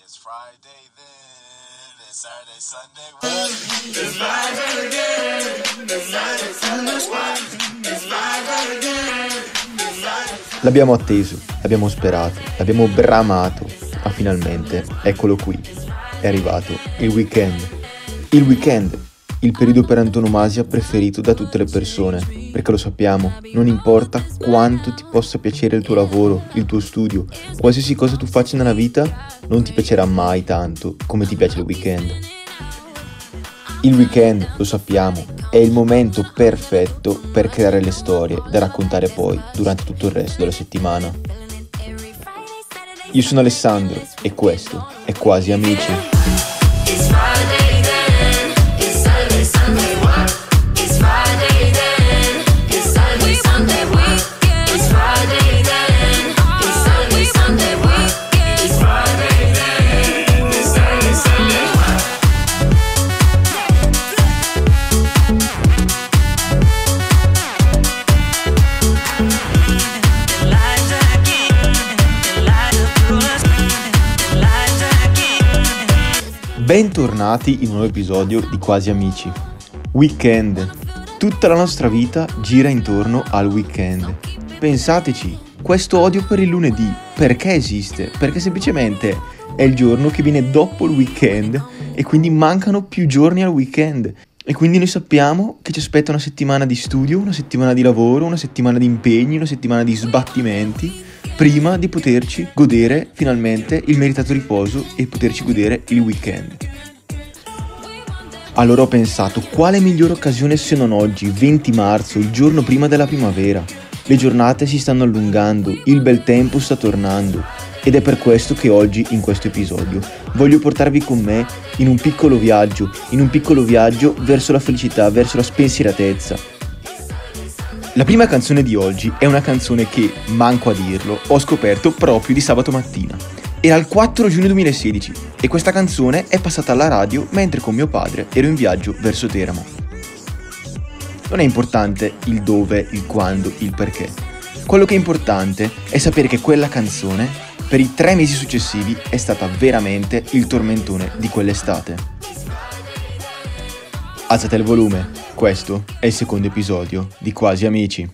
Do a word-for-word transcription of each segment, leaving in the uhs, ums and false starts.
It's Friday then, it's Saturday, Sunday, what? It's Friday again, it's Saturday, Sunday, what? It's Friday again, it's Friday. L'abbiamo atteso, l'abbiamo sperato, l'abbiamo bramato, ma finalmente, eccolo qui, è arrivato il weekend. Il weekend, il periodo per antonomasia preferito da tutte le persone, perché lo sappiamo, non importa quanto ti possa piacere il tuo lavoro, il tuo studio, qualsiasi cosa tu faccia nella vita, non ti piacerà mai tanto come ti piace il weekend. Il weekend, lo sappiamo, è il momento perfetto per creare le storie da raccontare poi durante tutto il resto della settimana. Io sono Alessandro e questo è Quasi Amici. Bentornati in un nuovo episodio di Quasi Amici. Weekend. Tutta la nostra vita gira intorno al weekend. Pensateci, questo odio per il lunedì, perché esiste? Perché semplicemente è il giorno che viene dopo il weekend e quindi mancano più giorni al weekend. E quindi noi sappiamo che ci aspetta una settimana di studio, una settimana di lavoro, una settimana di impegni, una settimana di sbattimenti, prima di poterci godere finalmente il meritato riposo e poterci godere il weekend. Allora ho pensato, quale migliore occasione se non oggi, venti marzo, il giorno prima della primavera? Le giornate si stanno allungando, il bel tempo sta tornando ed è per questo che oggi, in questo episodio, voglio portarvi con me in un piccolo viaggio, in un piccolo viaggio verso la felicità, verso la spensieratezza. La prima canzone di oggi è una canzone che, manco a dirlo, ho scoperto proprio di sabato mattina. Era il quattro giugno duemilasedici e questa canzone è passata alla radio mentre con mio padre ero in viaggio verso Teramo. Non è importante il dove, il quando, il perché. Quello che è importante è sapere che quella canzone, per i tre mesi successivi, è stata veramente il tormentone di quell'estate. Alzate il volume. Questo è il secondo episodio di Quasi Amici.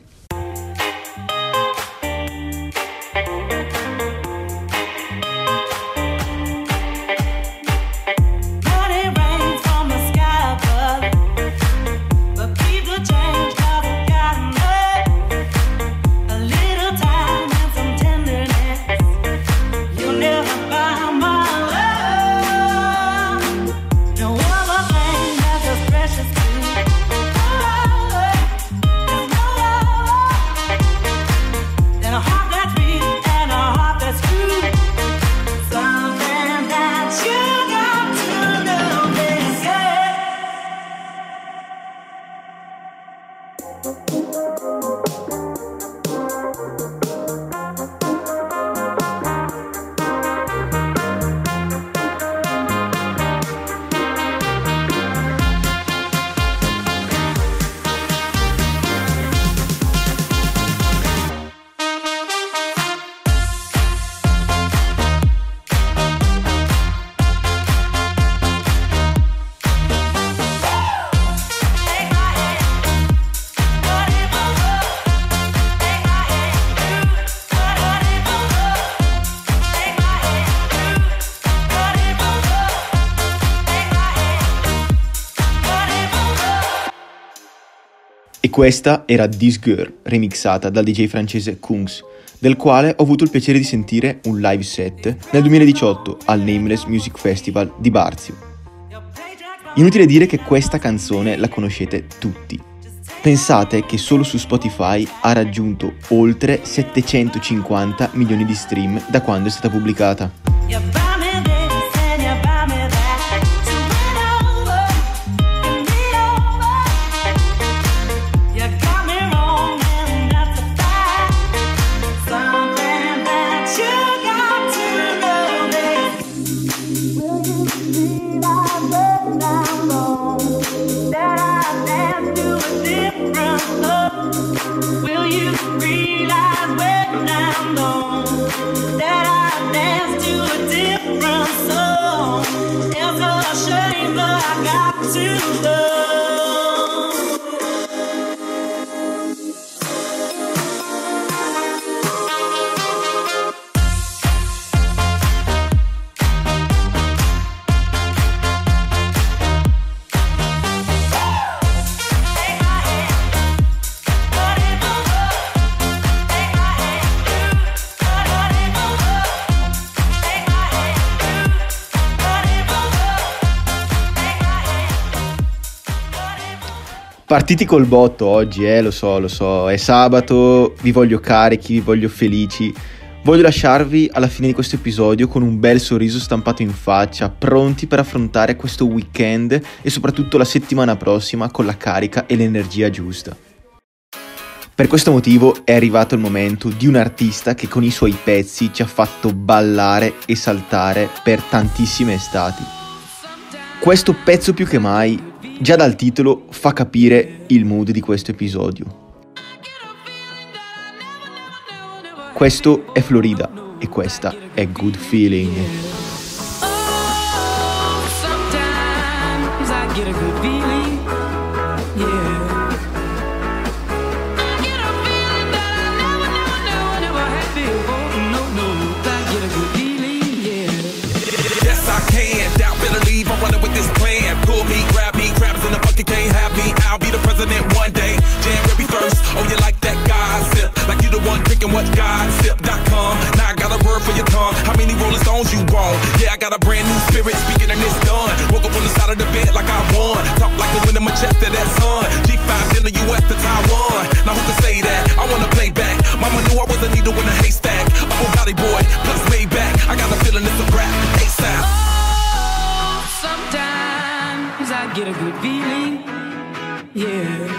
E questa era This Girl, remixata dal D J francese Kungs, del quale ho avuto il piacere di sentire un live set nel duemiladiciotto al Nameless Music Festival di Barzio. Inutile dire che questa canzone la conoscete tutti. Pensate che solo su Spotify ha raggiunto oltre settecentocinquanta milioni di stream da quando è stata pubblicata. Will you realize when I'm gone that I dance to a different to love. Partiti col botto oggi, eh, lo so, lo so, è sabato, vi voglio carichi, vi voglio felici. Voglio lasciarvi alla fine di questo episodio con un bel sorriso stampato in faccia, pronti per affrontare questo weekend e soprattutto la settimana prossima con la carica e l'energia giusta. Per questo motivo è arrivato il momento di un artista che con i suoi pezzi ci ha fatto ballare e saltare per tantissime estati. Questo pezzo più che mai, già dal titolo, fa capire il mood di questo episodio. Questo è Florida e questa è Good Feeling. Can't have me, I'll be the president one day. January first, oh you like that gossip? Like you the one drinking what gossip dot com. Now I got a word for your tongue. How many Rolling Stones you want? Yeah, I got a brand new spirit speaking and it's done. Woke up on the side of the bed like I won. Talk like the wind in my chest to that sun. G five in the U S to Taiwan. Now who can say that? I wanna play back. Mama knew I was a needle in a haystack. A whole body boy, plus way back. I got a feeling it's a rap. ASAP. Oh, sometimes I get a good feeling. Yeah.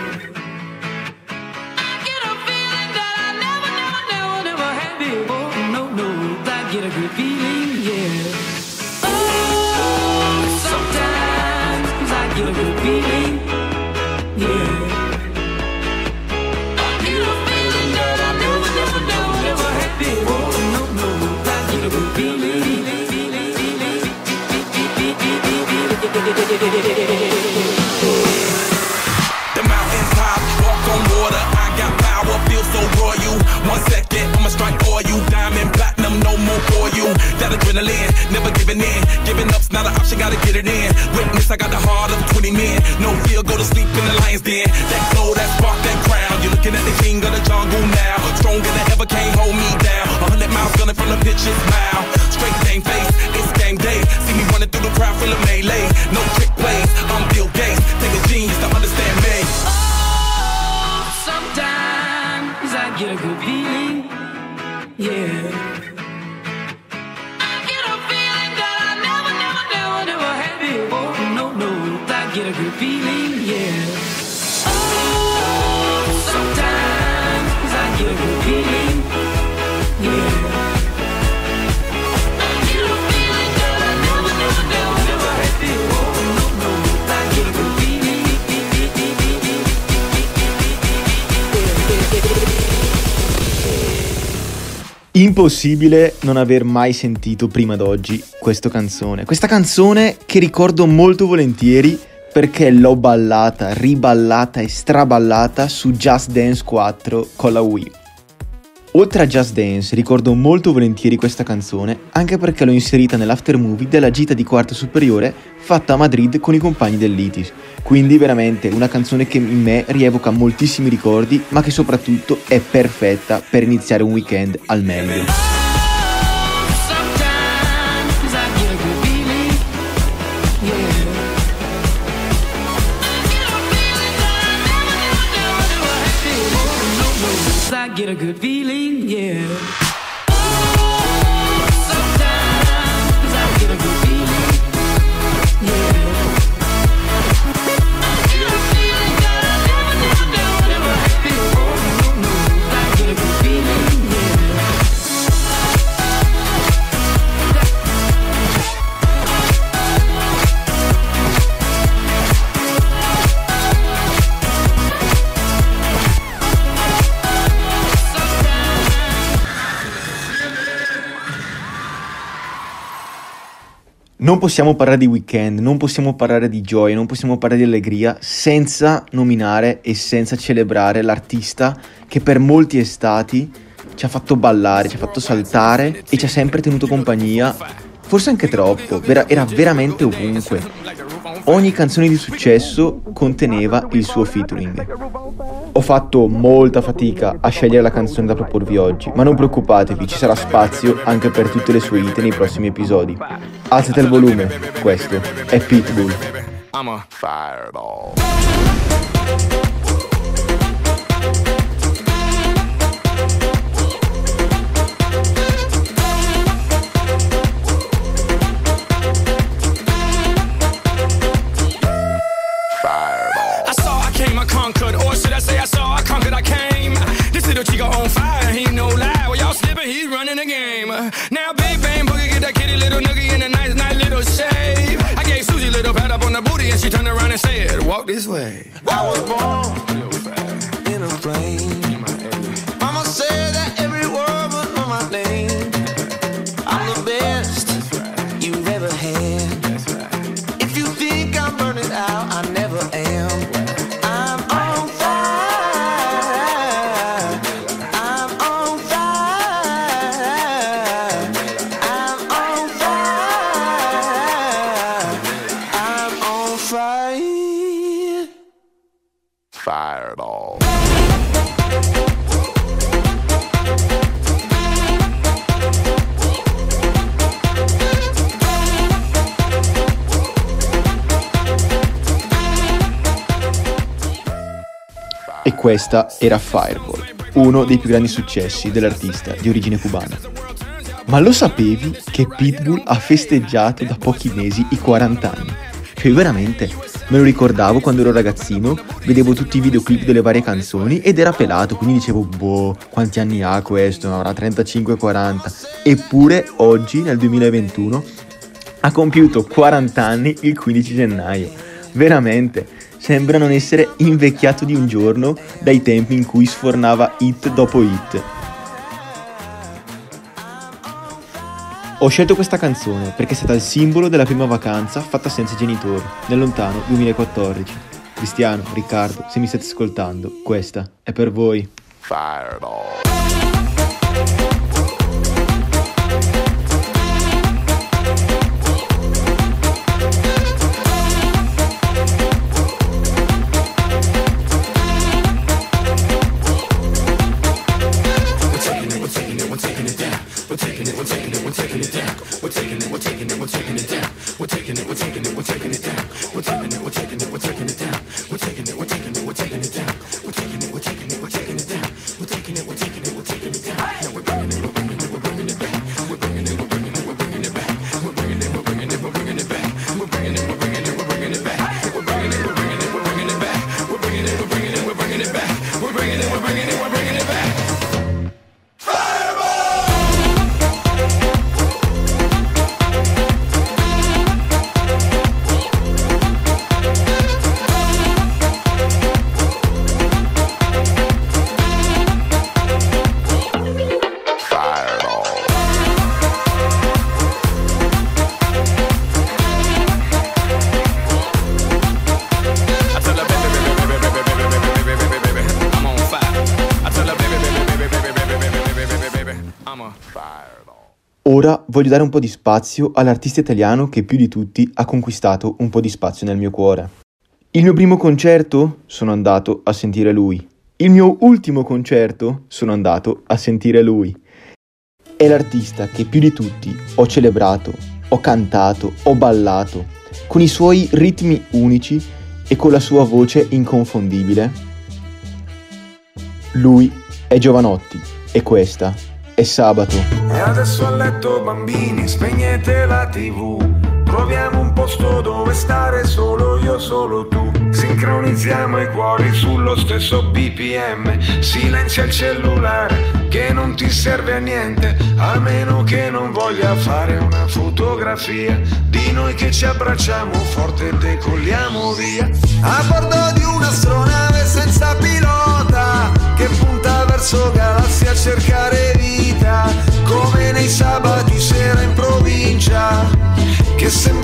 I get a feeling that I never, never, never, never had before. No, no, I get a good feeling, yeah. Oh, sometimes I get a good feeling, yeah. I get a feeling that I never, never, never, never had before. No, no, I get a good feeling, feeling, feeling, feeling. The mountains top, walk on water, I got power, feel so royal. One second, I'ma strike for you. Diamond, platinum, no more for you. That adrenaline, never giving in. Giving up's not an option, gotta get it in. Witness, I got the heart of twenty men. No fear, go to sleep in the lion's den. That glow, that spark, that crown. You're looking at the king of the jungle now. Stronger than ever, can't hold me down. A hundred miles gunning from the pitcher's mouth. Straight game face, it's game day. See me running through the crowd, full of melee. No trick plays, I'm Bill Gates. Take a genius to understand me. Sometimes I get a good feeling, yeah. I get a feeling that I never, never, never, never had before. No, no, I get a good feeling, yeah. Oh, sometimes I get a good feeling, yeah. I get a feeling that I never, never, never, never had before. No, no, I get a good feeling. Impossibile non aver mai sentito prima d'oggi questa canzone. Questa canzone che ricordo molto volentieri perché l'ho ballata, riballata e straballata su Just Dance quattro con la Wii. Oltre a Just Dance ricordo molto volentieri questa canzone anche perché l'ho inserita nell'after movie della gita di quarta superiore fatta a Madrid con i compagni dell'I T I S. Quindi veramente una canzone che in me rievoca moltissimi ricordi ma che soprattutto è perfetta per iniziare un weekend al meglio. Get a good feeling, yeah. Non possiamo parlare di Weeknd, non possiamo parlare di gioia, non possiamo parlare di allegria senza nominare e senza celebrare l'artista che per molti estati ci ha fatto ballare, ci ha fatto saltare e ci ha sempre tenuto compagnia, forse anche troppo, vera- era veramente ovunque. Ogni canzone di successo conteneva il suo featuring. Ho fatto molta fatica a scegliere la canzone da proporvi oggi, ma non preoccupatevi, ci sarà spazio anche per tutte le sue hit nei prossimi episodi. Alzate il volume, questo è Pitbull. I'm a fireball. Conquered, or should I say I saw, I conquered, I came. This little chico on fire, he no lie. Well, y'all slipping, he's running the game. Now Big Bang Boogie get that kitty little noogie in a nice, nice little shave. I gave Susie a little pat up on the booty and she turned around and said, walk this way. I was born in a plane. Mama said that every word was on my name. I'm the best you've ever had. If you think I'm burning out, I never am. Fireball. E questa era Fireball, uno dei più grandi successi dell'artista di origine cubana. Ma lo sapevi che Pitbull ha festeggiato da pochi mesi i quaranta anni? Cioè veramente, me lo ricordavo quando ero ragazzino, vedevo tutti i videoclip delle varie canzoni ed era pelato, quindi dicevo, boh, quanti anni ha questo? Avrà trentacinque quaranta. Eppure oggi, nel duemilaventuno, ha compiuto quaranta anni il quindici gennaio. Veramente, sembra non essere invecchiato di un giorno dai tempi in cui sfornava hit dopo hit. Ho scelto questa canzone perché è stata il simbolo della prima vacanza fatta senza i genitori, nel lontano duemilaquattordici. Cristiano, Riccardo, se mi state ascoltando, questa è per voi. Fireball. Ora voglio dare un po' di spazio all'artista italiano che più di tutti ha conquistato un po' di spazio nel mio cuore. Il mio primo concerto? Sono andato a sentire lui. Il mio ultimo concerto? Sono andato a sentire lui. È l'artista che più di tutti ho celebrato, ho cantato, ho ballato, con i suoi ritmi unici e con la sua voce inconfondibile. Lui è Jovanotti e questa è Sabato. E adesso a letto bambini, spegnete la tivù. Troviamo un posto dove stare solo io, solo tu. Sincronizziamo i cuori sullo stesso B P M. Silenzia il cellulare che non ti serve a niente, a meno che non voglia fare una fotografia di noi che ci abbracciamo forte e decolliamo via. A bordo di un'astronave senza pilota che punta verso galassie a cercare vita, come nei sabati sera in provincia, che sembra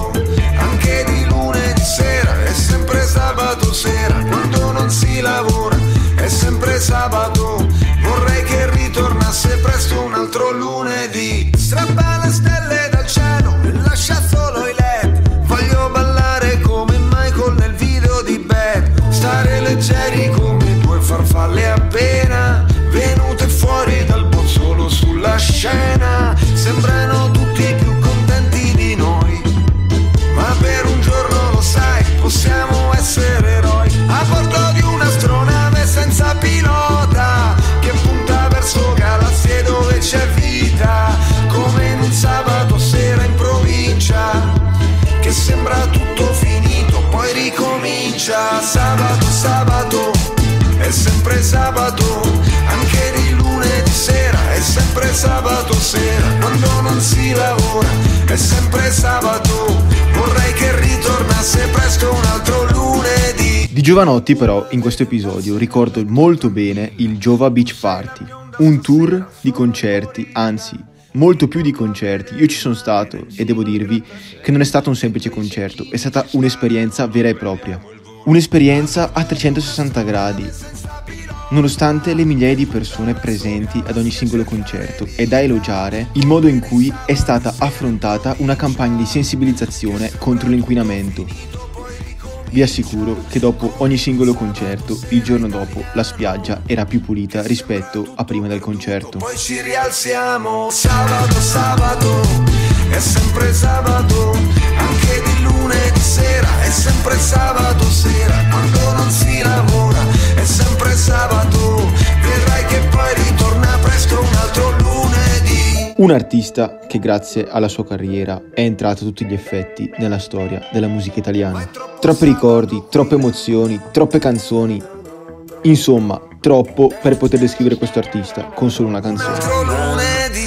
sabato, anche di lunedì sera, è sempre sabato sera, quando non si lavora, è sempre sabato, vorrei che ritornasse presto un altro lunedì. Strappa le stelle dal cielo e lascia solo i led, voglio ballare come Michael nel video di Bad, stare leggeri come due farfalle appena venute fuori dal bozzolo sulla scena, sembrano tutti più contenti di noi, ma per un giorno lo sai, possiamo essere eroi, a bordo di un'astronave senza pilota, che punta verso galassie dove c'è vita, come in un sabato sera in provincia, che sembra tutto finito, poi ricomincia. Sabato, sabato, è sempre sabato, anche di lunedì sera, è sempre sabato sera, quando non si lavora, è sempre sabato, vorrei che ritornasse presto un altro lunedì. Di Giovanotti però in questo episodio ricordo molto bene il Giova Beach Party, un tour di concerti, anzi molto più di concerti. Io ci sono stato e devo dirvi che non è stato un semplice concerto, è stata un'esperienza vera e propria, un'esperienza a trecentosessanta gradi, nonostante le migliaia di persone presenti ad ogni singolo concerto. È da elogiare il modo in cui è stata affrontata una campagna di sensibilizzazione contro l'inquinamento. Vi assicuro che dopo ogni singolo concerto, il giorno dopo, la spiaggia era più pulita rispetto a prima del concerto. Poi ci rialziamo, sabato, sabato, è sempre sabato, anche di lunedì sera, è sempre sabato sera, quando non si lavora, è sempre sabato, vedrai che poi ritorna presto un altro lunedì. Un artista che grazie alla sua carriera è entrato a tutti gli effetti nella storia della musica italiana. Troppi ricordi, troppe emozioni, troppe canzoni, insomma, troppo per poter descrivere questo artista con solo una canzone.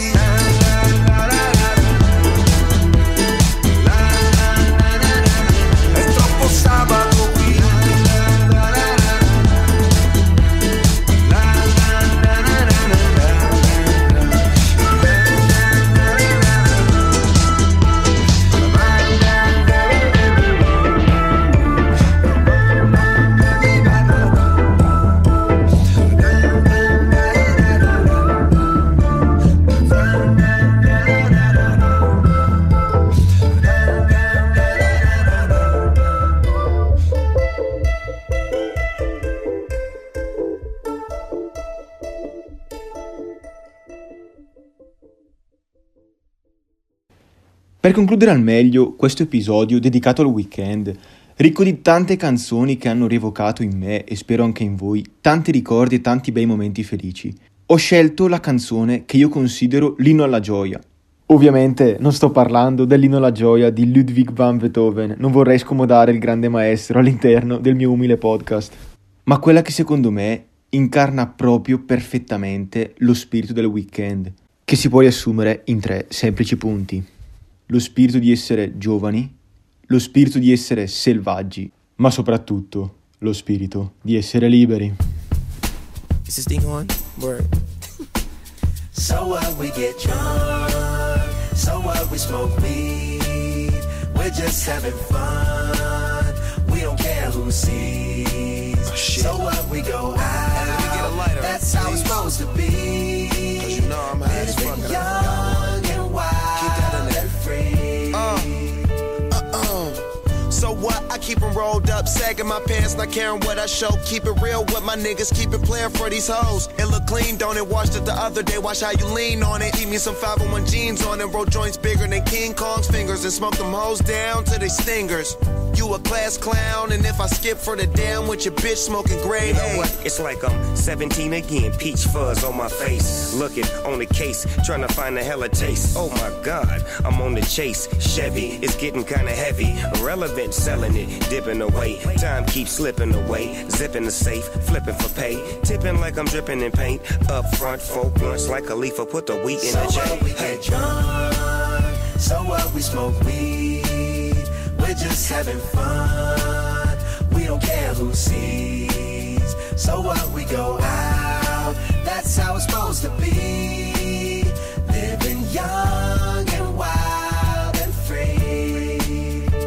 Per concludere al meglio questo episodio dedicato al weekend, ricco di tante canzoni che hanno rievocato in me e spero anche in voi tanti ricordi e tanti bei momenti felici, ho scelto la canzone che io considero l'inno alla gioia. Ovviamente non sto parlando dell'inno alla gioia di Ludwig van Beethoven, non vorrei scomodare il grande maestro all'interno del mio umile podcast, ma quella che secondo me incarna proprio perfettamente lo spirito del weekend, che si può riassumere in tre semplici punti. Lo spirito di essere giovani, lo spirito di essere selvaggi, ma soprattutto lo spirito di essere liberi. Is this thing on? Word. So what, we get drunk, so what, we smoke weed, we're just having fun, we don't care who sees, oh, so what, we go out, we get a lighter, that's how it's supposed to be, cause you know I'm high as fuck, young and wild and free. Uh, uh-uh. So what, I keep them rolled up, sagging my pants, not caring what I show. Keep it real with my niggas, keep it playing for these hoes. It look clean, don't it? Washed it the other day, watch how you lean on it. Keep me some five oh one jeans on and roll joints bigger than King Kong's fingers, and smoke them hoes down to they stingers. You a class clown, and if I skip for the damn with your bitch smoking gray. You know what? It's like I'm seventeen again, peach fuzz on my face. Looking on the case, trying to find a hella taste. Oh my God, I'm on the chase. Chevy, it's getting kinda heavy. Irrelevant, selling it, dipping away. Time keeps slipping away. Zipping the safe, flipping for pay. Tipping like I'm dripping in paint. Up front, four blunts like a leaf, put the wheat in so the J. What, we get drunk, so what, we smoke weed, we're just having fun, we don't care who sees. So what, we go out, that's how it's supposed to be, living young and wild and free.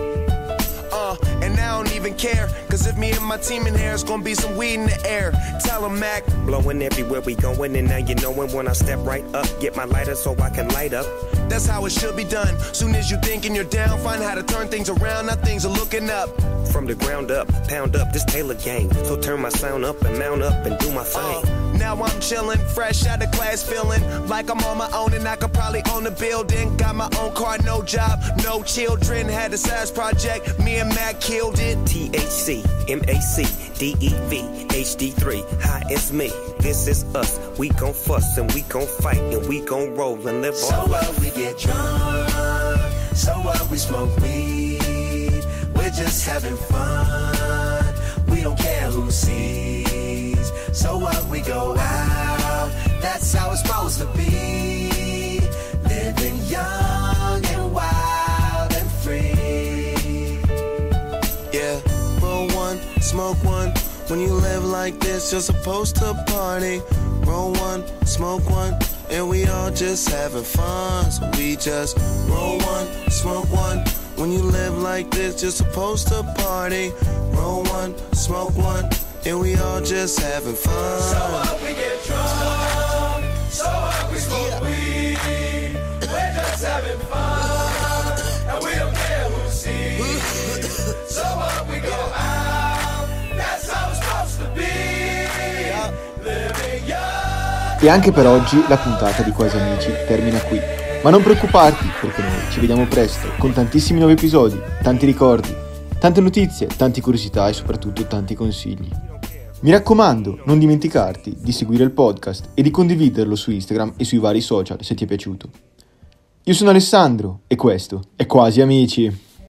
care. Cause if me and my team in here, it's gonna be some weed in the air. Tell 'em, Mac. Blowing everywhere we going, and now you knowin' when I step right up. Get my lighter so I can light up. That's how it should be done. Soon as you thinkin' you're down, find how to turn things around. Now things are looking up. From the ground up, pound up this Taylor gang. So turn my sound up and mount up and do my thing. Uh, now I'm chillin', fresh out of class, feelin' like I'm on my own and I could probably own a building. Got my own car, no job, no children. Had a size project, me and Mac killed it. T H C, M A C, D E V, H D three, hi, it's me. This is us, we gon' fuss and we gon' fight and we gon' roll and live so our life. So what, we get drunk, so what, we smoke weed. We're just having fun, we don't care who sees. So what, we go out, that's how it's supposed to be. Living young and wild and free. Yeah, roll one, smoke one. When you live like this, you're supposed to party. Roll one, smoke one, and we all just having fun. So we just roll one, smoke one. When you live like this, you're supposed to party. Roll one, smoke one, and we all just having fun. So up we get drunk, so up we smoke weed. We're just having fun, and we don't care who sees. So up we go out, that's how it's supposed to be. Living young. E anche per oggi la puntata di Quasi Amici termina qui. Ma non preoccuparti, perché noi ci vediamo presto con tantissimi nuovi episodi, tanti ricordi, tante notizie, tante curiosità e soprattutto tanti consigli. Mi raccomando, non dimenticarti di seguire il podcast e di condividerlo su Instagram e sui vari social se ti è piaciuto. Io sono Alessandro e questo è Quasi Amici.